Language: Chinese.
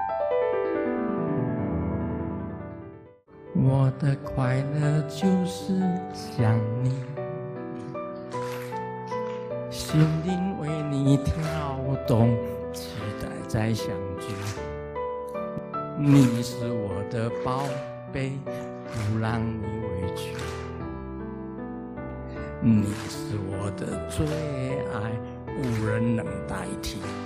我的快乐就是想你，心灵为你跳动，期待再相聚。你是我的宝贝，不让你委屈。你是我的最爱，无人能代替。